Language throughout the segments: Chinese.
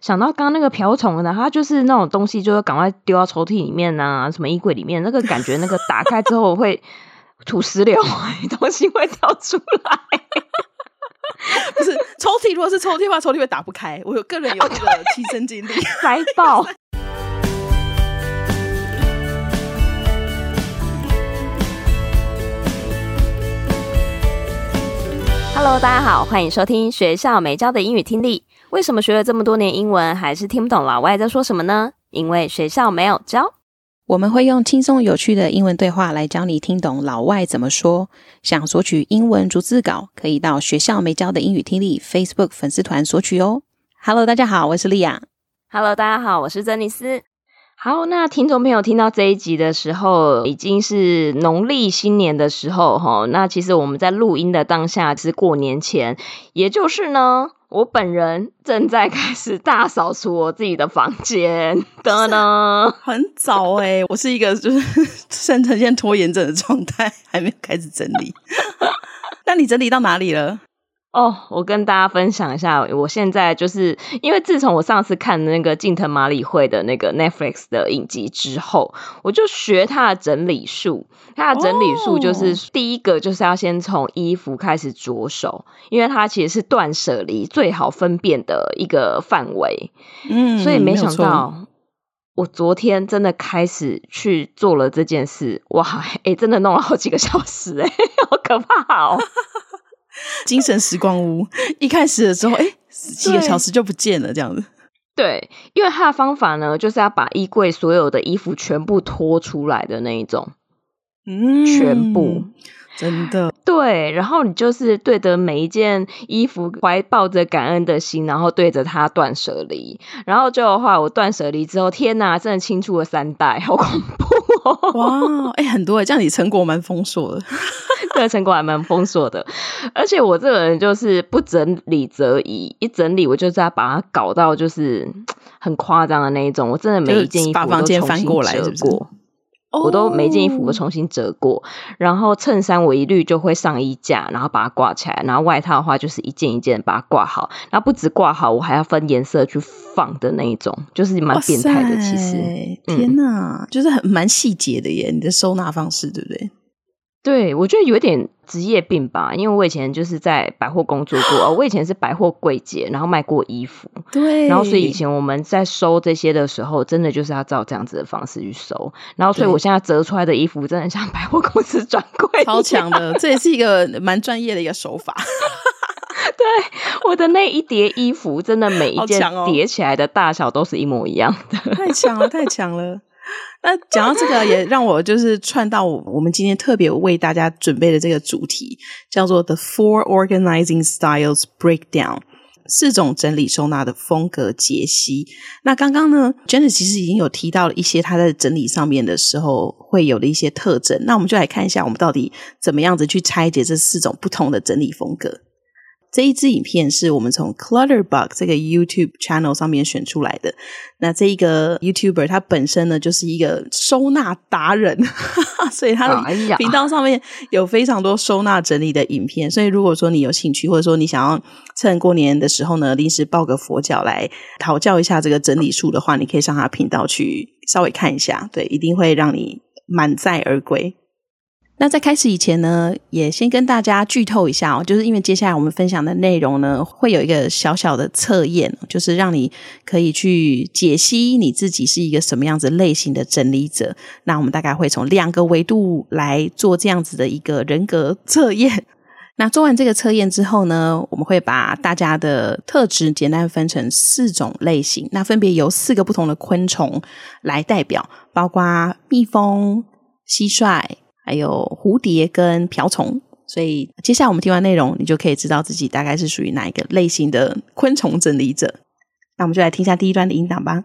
想到剛剛那個瓢蟲呢，它就是那種東西，就會趕快丟到抽屜裡面啊，什麼衣櫃裡面，那個感覺，那個打開之後會土石流，東西會掉出來。 不是抽屜，如果是抽屜的話，抽屜會打不開。我個人有這個親身經歷， 塞爆。Hello， 大家好，歡迎收聽學校沒教的英語聽力。為什麼學了這麼多年英文，還是聽不懂老外在說什麼呢？因為學校沒有教。 我們會用輕鬆有趣的英文對話來教你聽懂老外怎麼說。想索取英文逐字稿，可以到學校沒教的英語聽力 Facebook 粉絲團索取哦。Hello， 大家好，我是莉亞。 Hello， 大家好，我是珍妮斯。好，那聽眾朋友聽到這一集的時候，已經是農曆新年的時候齁。那其實我們在錄音的當下是過年前，也就是呢，我本人正在開始大掃除我自己的房間的呢。 很早我是一個就是呈現拖延症的狀態，還沒有開始整理。那你整理到哪裡了？ 我跟大家分享一下，我現在就是因為自從我上次看那個近藤麻里惠的那個 Netflix 的影集之後，我就學他的整理術。他的整理術就是第一個就是要先從衣服開始着手，因為它其實是斷捨離最好分辨的一個範圍。所以沒想到我昨天真的開始去做了這件事，哇，真的弄了好幾個小時，好可怕哦。 精神時光屋，一開始的時候幾個小時就不見了這樣子。 對，因為他的方法呢，就是要把衣櫃所有的衣服全部拖出來的那一種。全部真的对，然後你就是对着每一件衣服懷抱着感恩的心，然後對着它斷捨離，然後就的話我斷捨離之後，天哪，真的清出了3袋，好恐怖哦。 哇，很多這樣你成果蠻豐碩的。 對，成果還蠻豐碩的。而且我這個人就是不整理則已，一整理我就是要把它搞到就是很誇張的那一種，我真的每一件衣服我都重新折過，是不是？我都每件衣服我重新折過，然後襯衫我一律就會上衣架，然後把它掛起來，然後外套的話就是一件一件把它掛好，然後不止掛好，我還要分顏色去放的那一種，就是蠻變態的。其實天哪，就是蠻細節的耶，你的收納方式，對不对？ 對，我覺得有點職業病吧，因為我以前就是在百貨工作過，我以前是百貨櫃姐，然後賣過衣服， 對， 然後所以以前我們在收這些的時候，真的就是要照這樣子的方式去收，然後所以我現在折出來的衣服真的像百貨公司專櫃， 超強的，這也是一個蠻專業的一個手法。 對，我的那一疊衣服，真的每一件疊起來的大小都是一模一樣的， 太強了，太強了。那講到這個也讓我就是串到我們今天特別為大家準備的這個主題，叫做 The 4 Organizing Styles Breakdown， 4種整理收納的風格解析。那剛剛呢 Jenna 其實已經有提到了一些她在整理上面的時候會有的一些特徵，那我們就來看一下我們到底怎麼樣子去拆解這4種不同的整理風格。這一支影片是我們從 Clutterbug 這個 YouTube channel 上面選出來的。那這一個 YouTuber 他本身呢就是一個收納達人，所以他的頻道上面有非常多收納整理的影片。所以如果說你有興趣，或者說你想要趁過年的時候呢臨時抱個佛腳來討教一下這個整理術的話，你可以上他頻道去稍微看一下，對，一定會讓你滿載而歸。那在開始以前呢，也先跟大家劇透一下就是因為接下來我們分享的內容呢，會有一個小小的測驗，就是讓你可以去解析你自己是一個什麼樣子類型的整理者。那我們大概會從2個維度來做這樣子的一個人格測驗。那做完這個測驗之後呢，我們會把大家的特質簡單分成4種類型，那分別由4個不同的昆蟲來代表，包括蜜蜂、蟋蟀，還有蝴蝶跟瓢蟲。所以接下來我們聽完內容，你就可以知道自己大概是屬於哪一個類型的昆蟲整理者。那我們就來聽一下第一段的音檔吧。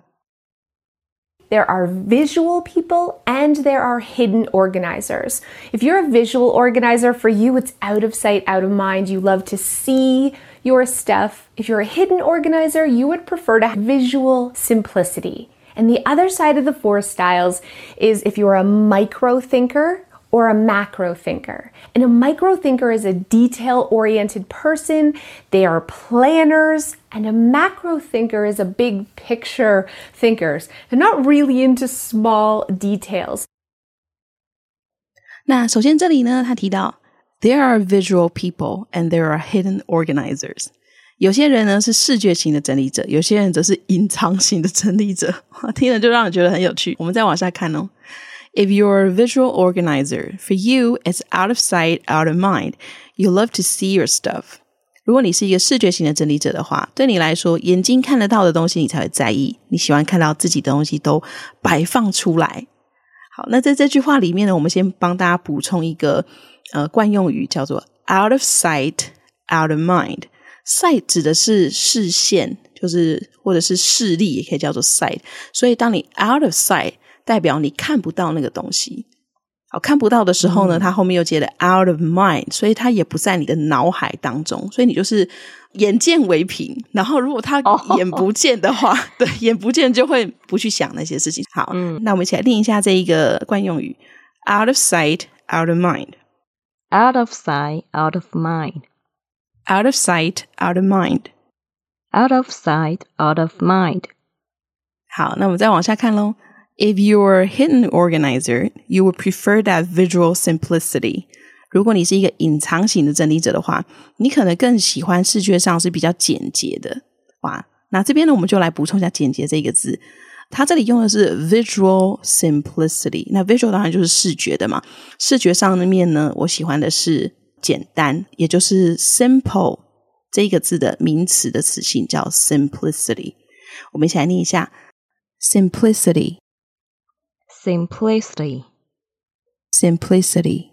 There are visual people and there are hidden organizers. If you're a visual organizer, for you it's out of sight, out of mind. You love to see your stuff. If you're a hidden organizer, you would prefer to have visual simplicity. And the other side of the 4 styles is if you're a micro thinker or a macro thinker. And a micro thinker is a detail-oriented person. They are planners. And a macro thinker is a big picture thinkers. They're not really into small details. 那首先這裡呢，他提到 There are visual people and there are hidden organizers. 有些人呢是視覺型的整理者，有些人則是隱藏型的整理者。聽了就讓人覺得很有趣。我們再往下看哦。If you're a visual organizer, for you, it's out of sight, out of mind. You love to see your stuff. 如果你是一個視覺型的整理者的話，對你來說，眼睛看得到的東西你才會在意，你喜歡看到自己的東西都擺放出來。好，那在這句話裡面呢，我們先幫大家補充一個慣用語，叫做 out of sight, out of mind.Sight 指的是視線，就是或者是視力也可以叫做 sight， 所以當你 out of sight 代表你看不到那個東西。好，看不到的時候呢，它後面又接了 out of mind， 所以它也不在你的腦海當中，所以你就是眼見為憑，然後如果它眼不見的話，對，眼不見就會不去想那些事情。好，那我們一起來練一下這一個慣用語 out of sight, out of mind. Out of sight, out of mind.Out of sight, out of mind. Out of sight, out of mind. 好，那我們再往下看咯。If you're a hidden organizer, you would prefer that visual simplicity. 如果你是一個隱藏型的整理者的話，你可能更喜歡視覺上是比較簡潔的。哇，那這邊呢，我們就來補充一下簡潔這個字。它這裡用的是 visual simplicity。那 visual 當然就是視覺的嘛。視覺上面呢，我喜歡的是簡單，也就是 simple 這個字的名詞的詞性叫 simplicity。我們一起來念一下 simplicity simplicity simplicity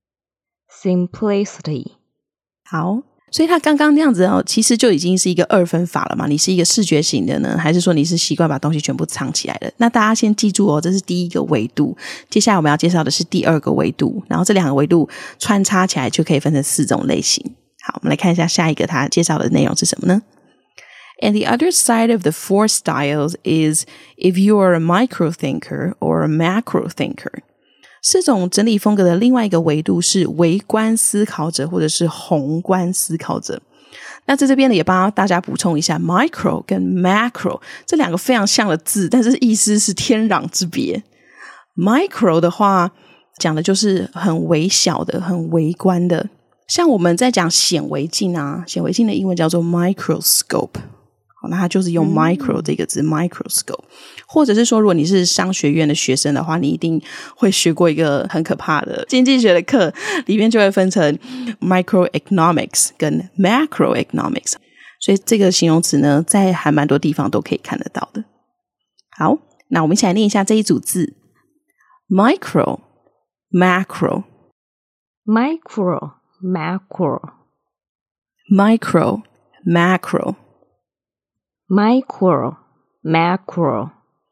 simplicity。 好，所以他剛剛那樣子哦，其實就已經是一個二分法了嘛。你是一個視覺型的呢，還是說你是習慣把東西全部藏起來的？那大家先記住哦，這是第一個維度。接下來我們要介紹的是第二個維度，然後這兩個維度穿插起來就可以分成4種類型。好，我們來看一下下一個他介紹的內容是什麼呢？ And the other side of the 4 styles is if you are a micro thinker or a macro thinker. 4種整理風格的另外一個維度是微觀思考者或者是宏觀思考者。那在這邊呢，也幫大家補充一下 micro 跟 macro 這兩個非常像的字，但是意思是天壤之別。micro 的話講的就是很微小的，很微觀的，像我們在講顯微鏡啊，顯微鏡的英文叫做 microscope， 那它就是用 micro 這個字 microscope。 或者是說如果你是商學院的學生的話，你一定會學過一個很可怕的經濟學的課，裡面就會分成 microeconomics 跟 macroeconomics， 所以這個形容詞呢在還蠻多地方都可以看得到的。好，那我們一起來念一下這一組字 micro macro micro macro micro macro micro macro。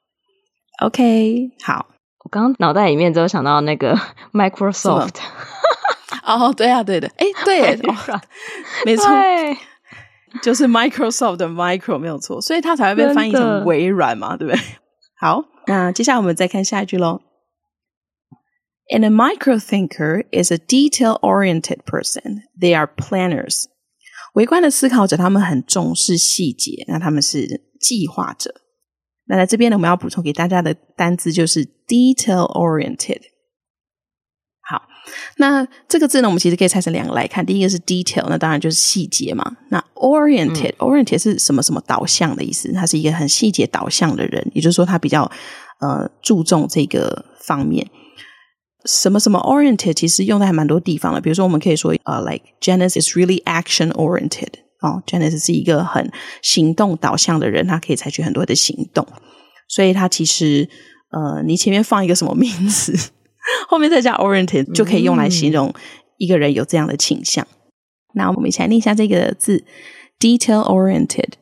OK， 好， 我剛剛腦袋裡面只有想到那個 Microsoft。 哦，對啊，對的，誒，對耶，哦，沒錯，就是 Microsoft 的 micro 沒有錯，所以它才會被翻譯成微軟嘛，對不對？好，那接下來我們再看下一句咯。And a micro thinker is a detail-oriented person. They are planners. 微觀的思考者，他們很重視細節，那他們是計劃者。那在這邊呢，我們要補充給大家的單字就是 detail-oriented。好，那這個字呢，我們其實可以拆成兩個來看。第一個是 detail， 那當然就是細節嘛。那 oriented，oriented 是什麼什麼導向的意思？他是一個很細節導向的人，也就是說他比較注重這個方面。什麼什麼 oriented 其實用在還蠻多地方的，比如說我們可以說like Janice is really action oriented。Janice 是一個很行動導向的人，他可以採取很多的行動，所以他其實你前面放一個什麼名詞，後面再加 oriented 就可以用來形容一個人有這樣的傾向。那我們一起來念一下這個字 detail oriented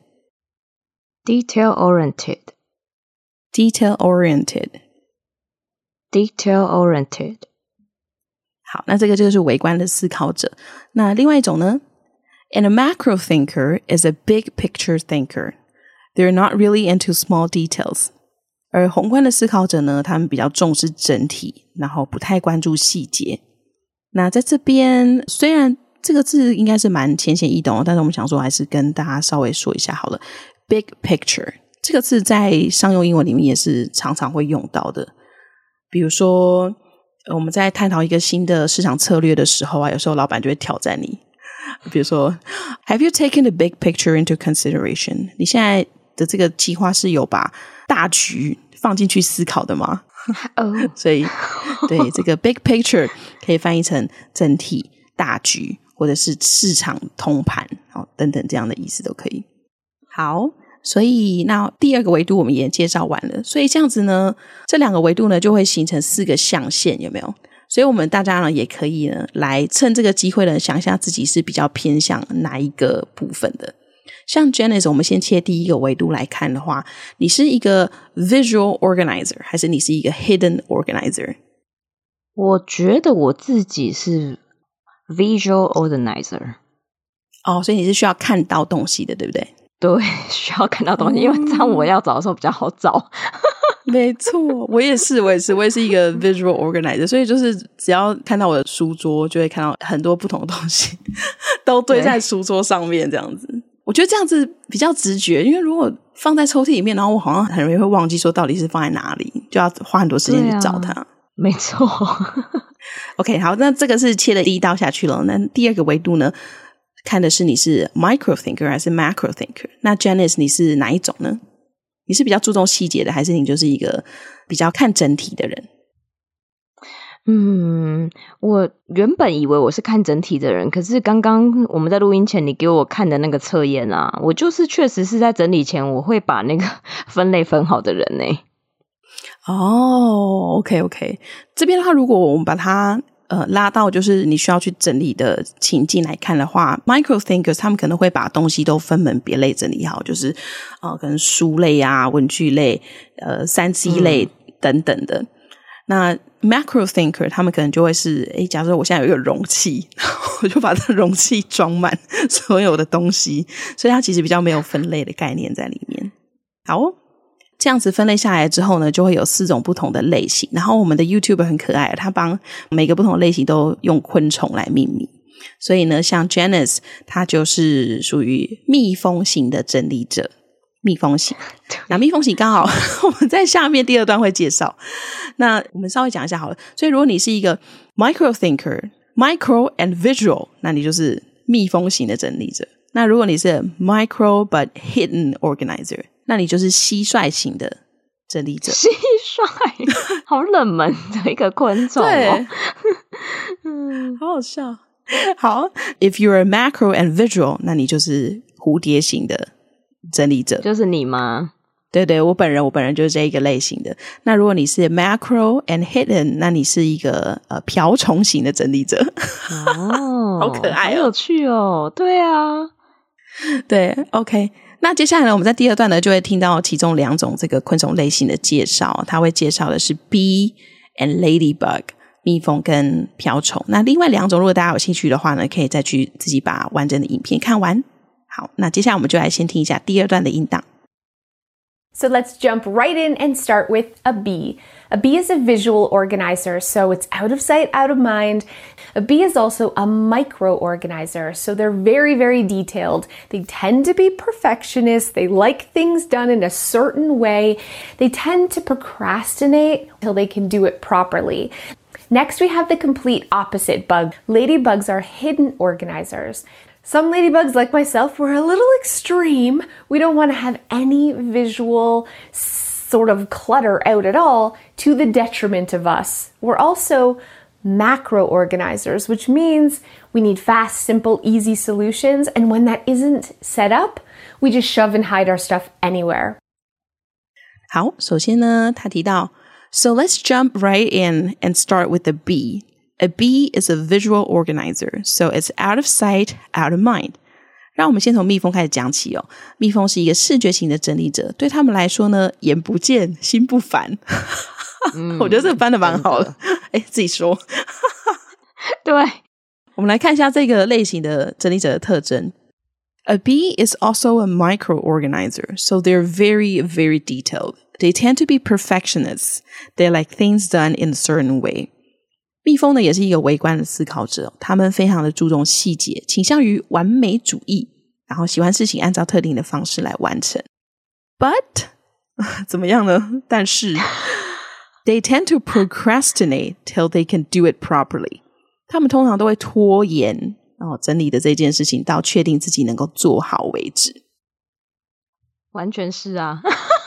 detail oriented detail oriented detail oriented。 好，那這個就是微觀的思考者。那另外一種呢？And a macro thinker is a big picture thinker. They're not really into small details. 而宏觀的思考者呢，他們比較重視整體，然後不太關注細節。那在這邊，雖然這個字應該是蠻淺顯易懂的，但是我們想說還是跟大家稍微說一下好了。Big picture 這個字在商用英文裡面也是常常會用到的。比如說我們在探討一個新的市場策略的時候啊，有時候老闆就會挑戰你，比如說 Have you taken the big picture into consideration？ 你現在的這個計劃是有把大局放進去思考的嗎？所以對，這個 big picture 可以翻譯成整體大局，或者是市場通盤等等這樣的意思都可以。好，所以那第二個維度我們也介紹完了，所以這樣子呢，這兩個維度呢就會形成4個象限，有沒有？所以我們大家呢也可以呢來趁這個機會呢想一下自己是比較偏向哪一個部分的。像 Janice， 我們先切第一個維度來看的話，你是一個 visual organizer 還是你是一個 hidden organizer？ 我覺得我自己是 visual organizer。 哦，所以你是需要看到東西的，对不对？ 對，需要看到東西，因为這樣我要找的時候比較好找。 沒錯，我也是一個 visual organizer， 所以就是只要看到我的書桌，就會看到很多不同的東西都堆在書桌上面這樣子。我覺得這樣子比較直覺，因為如果放在抽屜裡面，然後我好像很容易會忘記說到底是放在哪裡，就要花很多時間去找它。 沒錯。 OK， 好，那這個是切了第一刀下去了。那第二個維度呢，看的是你是 micro thinker 還是 macro thinker。那 Janice 你是哪一種呢？你是比較注重細節的，還是你就是一個比較看整體的人？ 我原本以為我是看整體的人，可是剛剛我們在錄音前你給我看的那個測驗啊，我就是確實是在整理前我會把那個分類分好的人呢。 哦，OK， 這邊的話，如果我們把它拉到就是你需要去整理的情境來看的話 ，micro thinkers 他們可能會把東西都分門別類整理好，就是可能書類啊、文具類、3C 類等等的。那 macro thinker 他們可能就會是，假設我現在有一個容器，我就把這個容器裝滿所有的東西，所以它其實比較沒有分類的概念在裡面。好哦，這樣子分類下來之後呢，就會有4種不同的類型。然後我們的 YouTuber 很可愛，他幫每個不同的類型都用昆蟲來命名。所以呢，像 Janice 他就是屬於蜜蜂型的整理者。蜜蜂型，那蜜蜂型剛好我們在下面第2段會介紹。那我們稍微講一下好了。所以如果你是一個 micro thinker micro and visual， 那你就是蜜蜂型的整理者。那如果你是 micro but hidden organizer， 那你就是蟋蟀型的整理者。 蟋蟀好冷門的一個昆蟲哦。 對好好笑。好 if you're a macro and visual， 那你就是蝴蝶型的整理者。 就是你嗎？ 对，我本人就是這一個類型的。那如果你是 macro and hidden， 那你是一個瓢蟲型的整理者。 哦， 好可愛哦， 好有趣哦。對啊， 對 OK。那接下來呢，我們在第2段呢就會聽到其中2種這個昆蟲類型的介紹。它會介紹的是 bee and ladybug， 蜜蜂跟瓢蟲。那另外2種如果大家有興趣的話呢，可以再去自己把完整的影片看完。好，那接下來我們就來先聽一下第2段的音檔。 So let's jump right in and start with a bee. A bee is a visual organizer, so it's out of sight, out of mind. A bee is also a micro organizer, so they're very, very detailed. They tend to be perfectionists. They like things done in a certain way. They tend to procrastinate until they can do it properly. Next, we have the complete opposite bug. Ladybugs are hidden organizers. Some ladybugs, like myself, were a little extreme. We don't want to have any visual sort of clutter out at all to the detriment of us. We're also macro organizers, which means we need fast, simple, easy solutions. And when that isn't set up, we just shove and hide our stuff anywhere. 好，首先呢，他提到 So let's jump right in and start with the bee.A bee is a visual organizer, so it's out of sight, out of mind. 讓我們先從蜜蜂開始講起哦。蜜蜂是一個視覺型的整理者，對他們來說呢，眼不見心不煩。我覺得這個翻得蠻好的。自己說。 對， 我們來看一下這個類型的整理者的特徵。A bee is also a micro organizer, so they're very, very detailed. They tend to be perfectionists. They like things done in a certain way. 蜜蜂呢也是一個微觀的思考者，他們非常的注重細節，傾向於完美主義，然後喜歡事情按照特定的方式來完成。But 怎麼樣呢？但是 they tend to procrastinate till they can do it properly. 他們通常都會拖延整理的這件事情到確定自己能夠做好為止。 完全是啊。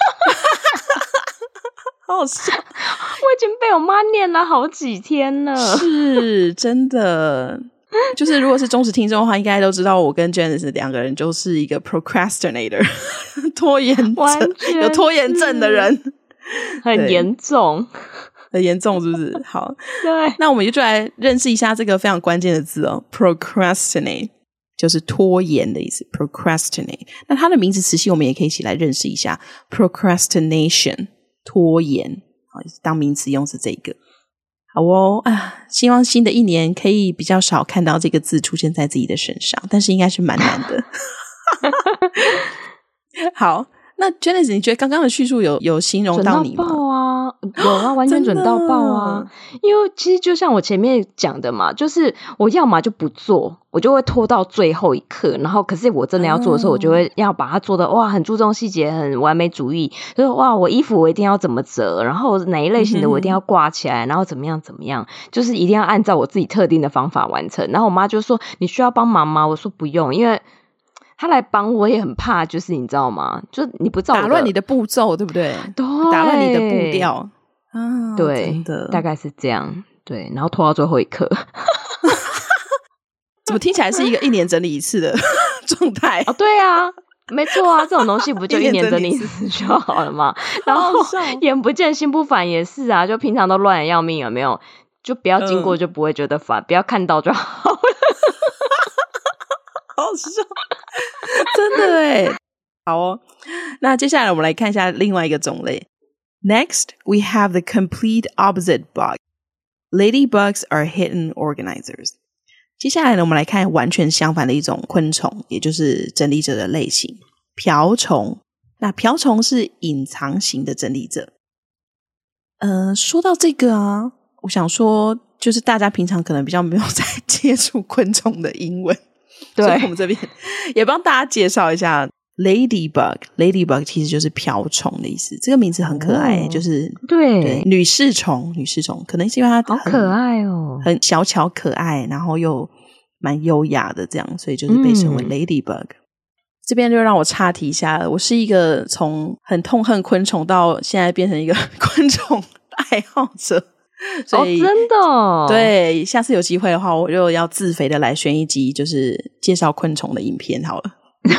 好好笑， 我已經被我媽念了好幾天了。是真的，就是如果是忠實聽眾的話，應該都知道我跟 Janice 兩個人就是一個 procrastinator 拖延症，有拖延症的人， 很嚴重， 很嚴重是不是？好， 對， 那我們就來認識一下這個非常關鍵的字哦 ，procrastinate 就是拖延的意思 ，procrastinate。那它的名詞詞性我們也可以一起來認識一下 ，procrastination。拖延當名詞用是這個。好哦希望新的一年可以比較少看到這個字出現在自己的身上，但是應該是蠻難的。好，那 Janice 你覺得剛剛的敘述有形容到你嗎？ 準到爆啊，有啊，完全準到爆啊。因為其實就像我前面講的嘛，就是我要麼就不做，我就會拖到最後一刻，然後可是我真的要做的時候，我就會要把它做的哇，很注重細節，很完美主義，就是哇，我衣服我一定要怎麼折，然後哪一類型的我一定要掛起來，然後怎麼樣，就是一定要按照我自己特定的方法完成。然後我媽就說：“你需要幫忙嗎？”我說：“不用，因為他來幫我也很怕，就是你知道嗎？就是你不照打亂你的步驟，對不对？對，打亂你的步調啊， 對， 真的大概是這樣。對，然後拖到最後一刻。 怎麼聽起來是一個一年整理一次的狀態？ 對啊，沒錯啊，這種東西不就一年整理一次就好了嗎？然後眼不見心不煩也是啊，就平常都亂得要命，有沒有？就不要經過就不會覺得煩，不要看到就好了。 好笑，真的耶。好哦，那接下來我們來看一下另外一個種類。Next, we have the complete opposite bug. Ladybugs are hidden organizers. 接下來呢，我們來看完全相反的一種昆蟲，也就是整理者的類型——瓢蟲。那瓢蟲是隱藏型的整理者。說到這個啊，我想說，就是大家平常可能比較沒有在接觸昆蟲的英文。對，所以我們這邊也幫大家介紹一下 Ladybug 其實就是瓢蟲的意思。這個名字很可愛，就是對女士蟲，可能是因為它好可愛哦， 很小巧可愛，然後又蠻優雅的這樣，所以就是被稱為 Ladybug。這邊就讓我岔題一下了，我是一個從很痛恨昆蟲到現在變成一個昆蟲愛好者。所以真的哦？對， 下次有機會的話，我就要自肥的來選一集，就是介紹昆蟲的影片好了。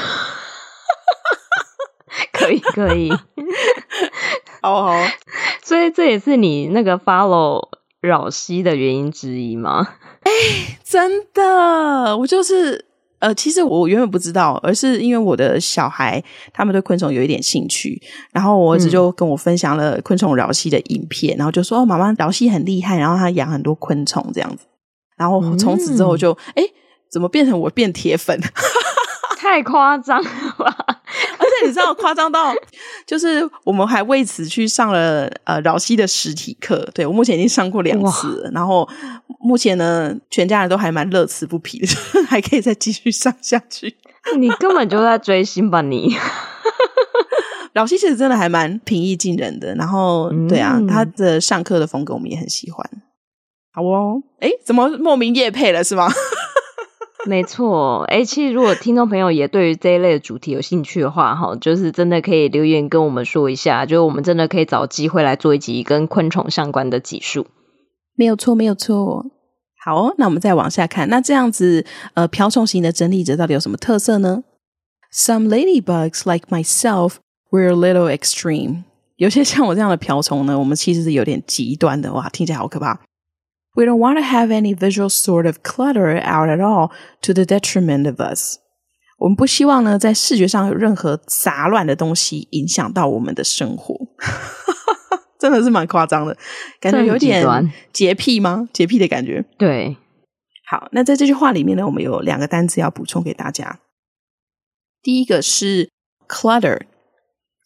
可以。 好。 所以這也是你那個 follow 擾西的原因之一嗎？ 真的，我就是其實我原本不知道，而是因為我的小孩他們對昆蟲有一點興趣，然後我兒子就跟我分享了昆蟲擾西的影片，然後就說媽媽擾西很厲害，然後他養很多昆蟲這樣子，然後從此之後就怎麼變成我變鐵粉？ 太誇張了吧！ 而且你知道誇張到就是我們還為此去上了擾西的實體課，對，我目前已經上過2次了，然後目前呢全家人都還蠻樂此不疲的，還可以再繼續上下去。 你根本就在追星吧你？ 擾西其實真的還蠻平易近人的，然後對啊，他的上課的風格我們也很喜歡。好哦，怎麼莫名業配了是嗎？ 沒錯，其實如果聽眾朋友也對於這一類的主題有興趣的話，就是真的可以留言跟我們說一下，就是我們真的可以找機會來做一集跟昆蟲相關的集數。 沒有錯。好哦，那我們再往下看，那這樣子瓢蟲型的整理者到底有什麼特色呢？ Some ladybugs like myself were a little extreme. 有些像我這樣的瓢蟲呢，我們其實是有點極端的，哇，聽起來好可怕。We don't want to have any visual sort of clutter out at all to the detriment of us. 我們不希望呢，在視覺上有任何雜亂的東西影響到我們的生活。真的是蠻誇張的，感覺有點潔癖嗎？潔癖的感覺。 對。 好，那在這句話裡面呢，我們有2個單詞要補充給大家。第一個是 clutter。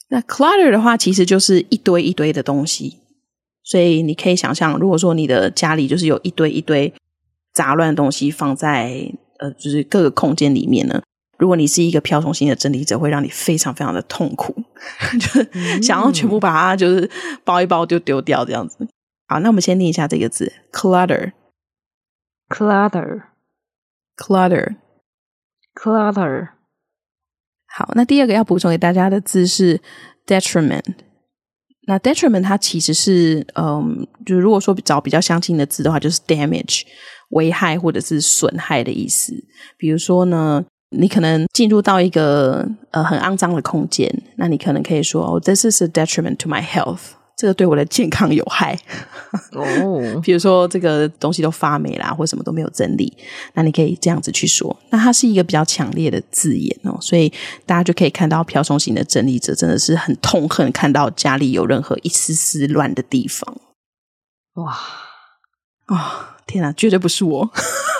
那 clutter 的話其實就是一堆一堆的東西，所以你可以想象，如果說你的家裡就是有一堆一堆雜亂的東西放在就是各個空間裡面呢，如果你是一個瓢虫型的整理者，会讓你非常非常的痛苦，就是想要全部把它就是包一包就丟掉這樣子。好，那我們先念一下這個字 clutter clutter clutter clutter。 好，那第二個要補充給大家的字是 detriment。那 detriment 它其實是就如果說找比較相近的字的話，就是 damage 危害或者是損害的意思。比如說呢，你可能進入到一個很骯髒的空間，那你可能可以說oh, this is a detriment to my health， 這個對我的健康有害。比如說這個東西都發霉啦，或什麼都沒有整理，那你可以這樣子去說。那它是一個比較強烈的字眼哦，所以大家就可以看到瓢蟲型的整理者真的是很痛恨看到家裡有任何一絲絲亂的地方。哇天啊，絕对不是我。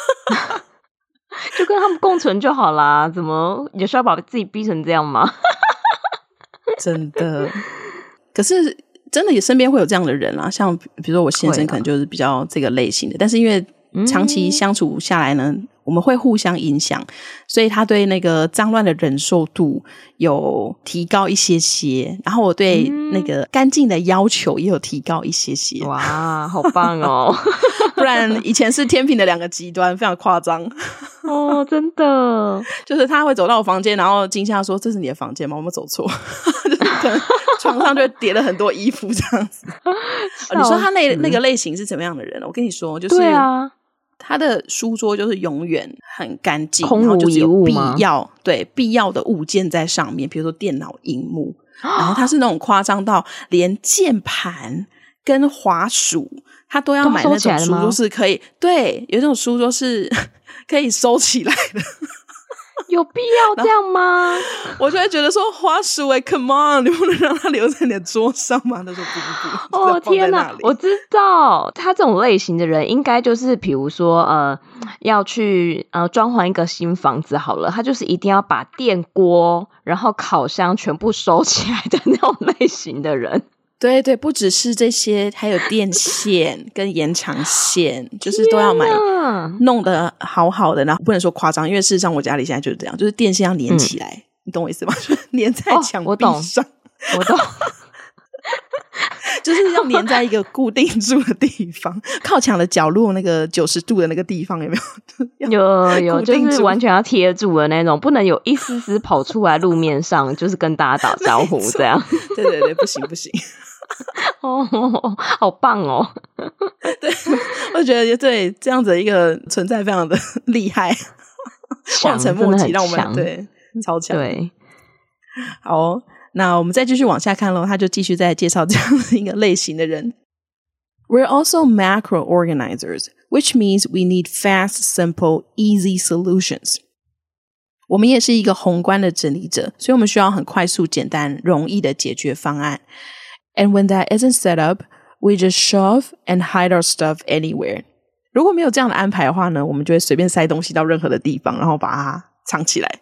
就跟他們共存就好啦，怎麼有需要把自己逼成這樣嗎？ 真的。可是真的也身邊會有這樣的人啊，像比如說我先生可能就是比較這個類型的，但是因為長期相處下來呢，我們會互相影響，所以他对那個髒亂的忍受度有提高一些些，然後我對那個乾淨的要求也有提高一些些。 哇，好棒哦。 不然以前是天平的两個極端，非常誇張。 哦，真的。就是他會走到我房間，然後驚嚇說，這是你的房間嗎？我沒走錯。就是可能床上就會疊了很多衣服這樣子。你說他那個類型是怎麼樣的人？我跟你說，就是對啊， 他的書桌就是永遠很乾淨， 空無一物嗎？ 必要的物件在上面，比如說電腦螢幕，然後他是那種誇張到連鍵盤跟滑鼠他都要買那種書桌是可以，對，有一種書桌是可以收起來的。 有必要這樣嗎？ 我就會覺得說滑鼠come on， 你不能讓它留在你的桌上嗎？他說不。 哦天哪，我知道他這种類型的人应該就是比如說要去裝潢一個新房子好了，他就是一定要把電鍋然後烤箱全部收起來的那種類型的人。对对，不只是這些，還有電線跟延長線，就是都要買，弄得好好的。然後不能說誇張，因為事實上我家裡現在就是這樣，就是電線要連起來，你懂我意思嗎？就是連在牆壁上。 我懂。 就是要連在一個固定住的地方，靠牆的角落那個90度的那個地方，有沒有？ 有，就是完全要貼住的那種，不能有一絲絲跑出來路面上，就是跟大家打招呼這樣。 對，不行。 哦，好棒哦！ 對，我覺得對這樣子的一個存在非常的厲害，望塵莫及，讓我們對超強。對，好，那我們再繼續往下看咯，他就繼續再介紹這樣的一個類型的人。We're also macro organizers, which means we need fast, simple, easy solutions. 我們也是一個宏觀的整理者，所以我們需要很快速、簡單、容易的解決方案。And when that isn't set up, we just shove and hide our stuff anywhere. 如果沒有這樣的安排的話呢，我們就會隨便塞東西到任何的地方，然後把它藏起來。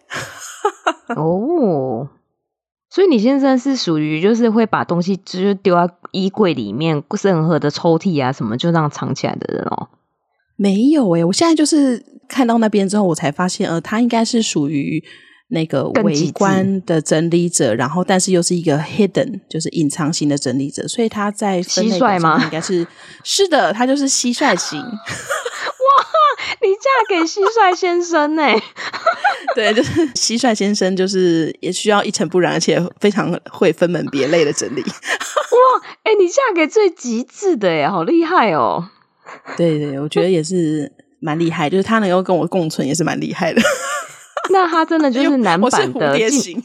哦，所以你先生是屬於就是會把東西就是丟在衣櫃裡面，任何的抽屜啊什麼就這樣藏起來的人哦？ 沒有欸，我現在就是看到那邊之後，我才發現他應該是屬於那個微觀的整理者，然後但是又是一個 hidden 就是隱藏型的整理者，所以他在分類表上應該是的，他就是蟋蟀型。 哇，你嫁給蟋蟀先生欸。 對，就是蟋蟀先生就是也需要一塵不染，而且非常會分門別類的整理。 哇，你嫁給最極致的耶，好厲害哦。 對，我覺得也是蠻厲害，就是他能夠跟我共存也是蠻厲害的。 那他真的就是男版的， 我是蝴蝶型，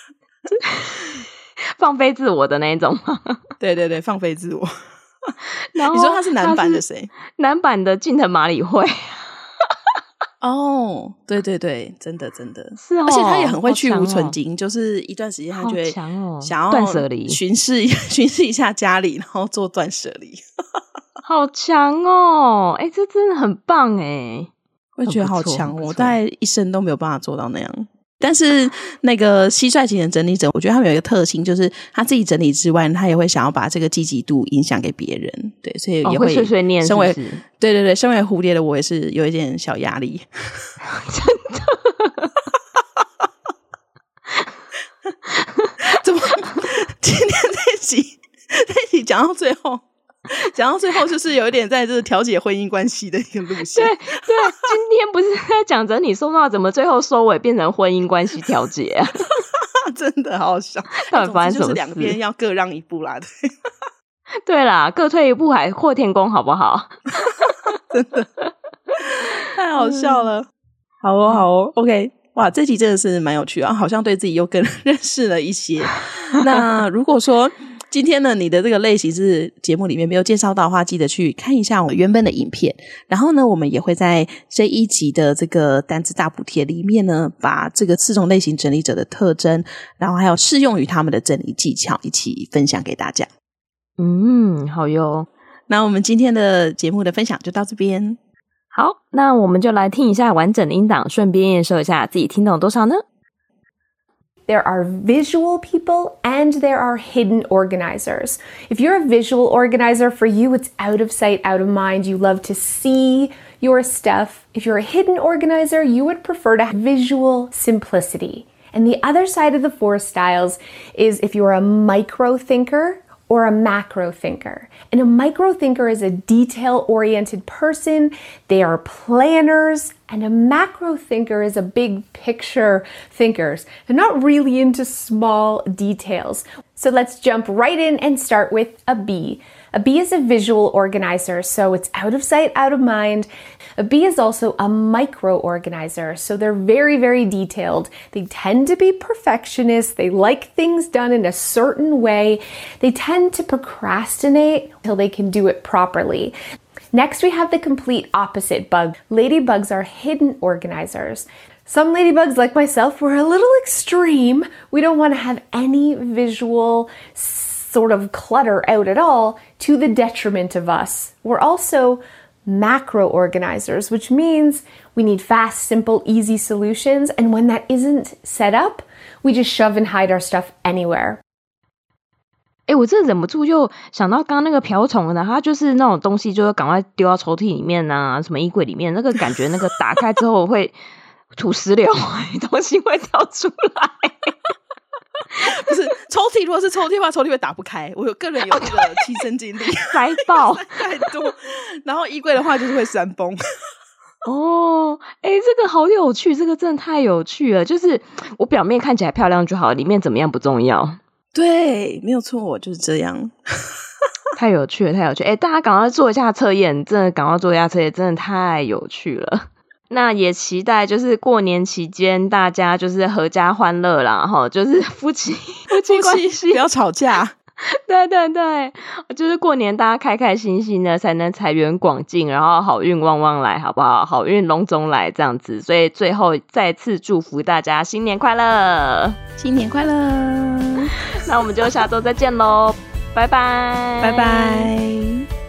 放飞自我的那一種嗎？ 对，放飞自我。 然後你说他是男版的誰？ 男版的近藤麻里惠。 哦，对，真的是哦， 而且他也很會去蕪存菁，就是一段時間他就會想要斷捨離， 巡視一下家裡，然後做斷捨離。 好強哦！這真的很棒哎。 會覺得好強，我大概一生都沒有辦法做到那樣。 但是那個蟋蟀型的整理者，我覺得他們有一個特性，就是他自己整理之外，他也會想要把這個積極度影響給別人。对，所以也會碎碎念是不是？ 对对对，身為蝴蝶的我也是有一點小壓力。 真的？ 怎麼？今天這集講到最後。講到最後，就是有一點在這調解婚姻關係的一個路線。 對，今天不是在講整理收納，怎麼最後收尾變成婚姻關係調解啊？ 真的好笑。 到底發生什麼事？ 就是兩邊要各讓一步啦。 對啦，各退一步，海闊天空，好不好？ 真的太好笑了。好哦，好哦。OK， 哇，這集真的是蠻有趣啊，好像對自己又更認識了一些。那如果說今天呢，你的這個類型是節目裡面沒有介紹到的話，記得去看一下我原本的影片。然後呢，我們也會在這一集的這個單字大補帖裡面呢，把這個4種類型整理者的特徵，然後還有適用於他們的整理技巧一起分享給大家。 好喲。 那我們今天的節目的分享就到這邊。 好，那我們就來聽一下完整的音檔，順便驗收一下自己聽懂多少呢 ？There are visual people and there are hidden organizers. If you're a visual organizer, for you, it's out of sight, out of mind. You love to see your stuff. If you're a hidden organizer, you would prefer to have visual simplicity. And the other side of the 4 styles is if you're a micro thinker or a macro thinker. And a micro thinker is a detail-oriented person. They are planners. And a macro thinker is a big picture thinkers. They're not really into small details. So let's jump right in and start with a B. A B is a visual organizer, so it's out of sight, out of mind. A B is also a micro organizer, so they're very, very detailed. They tend to be perfectionists. They like things done in a certain way. They tend to procrastinate until they can do it properly. Next, we have the complete opposite bug. Ladybugs are hidden organizers. Some ladybugs, like myself, we're a little extreme. We don't want to have any visual sort of clutter out at all to the detriment of us. We're also macro organizers, which means we need fast, simple, easy solutions. And when that isn't set up, we just shove and hide our stuff anywhere. 我真的忍不住就想到剛剛那個瓢蟲的，它就是那種東西，就是趕快丟到抽屜裡面啊，什麼衣櫃裡面，那個感覺，那個打開之後會土石流，東西會掉出來。 不是抽屜，如果是抽屜的話，抽屜會打不開。我個人有這個親身經歷， 塞爆太多。然後衣櫃的話就是會山崩。 哦，這個好有趣，這個真的太有趣了。就是我表面看起來漂亮就好，裡面怎麼樣不重要。 對，沒有錯，就是這樣。 太有趣了，太有趣！大家趕快做一下測驗，真的趕快做一下測驗，真的太有趣了。那也期待就是過年期間大家就是闔家歡樂啦，齁，就是夫妻關係不要吵架。 對對對，就是過年大家開開心心的，才能財源廣進，然後好運旺旺來，好不好？好運龍總來這樣子。所以最後再次祝福大家新年快樂， 新年快樂。 那我們就下周再見嘍，拜拜， 拜拜。